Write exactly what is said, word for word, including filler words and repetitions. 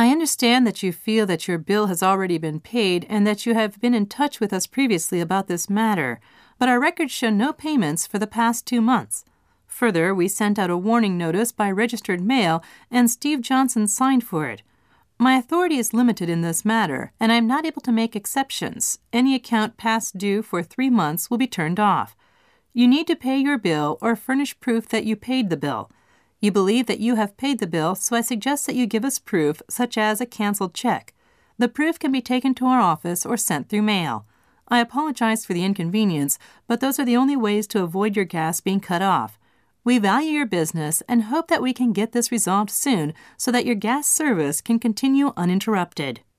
I understand that you feel that your bill has already been paid and that you have been in touch with us previously about this matter, but our records show no payments for the past two months. Further, we sent out a warning notice by registered mail, and Steve Johnson signed for it. My authority is limited in this matter, and I am not able to make exceptions. Any account past due for three months will be turned off. You need to pay your bill or furnish proof that you paid the bill. You believe that you have paid the bill, so I suggest that you give us proof, such as a canceled check. The proof can be taken to our office or sent through mail. I apologize for the inconvenience, but those are the only ways to avoid your gas being cut off. We value your business and hope that we can get this resolved soon so that your gas service can continue uninterrupted.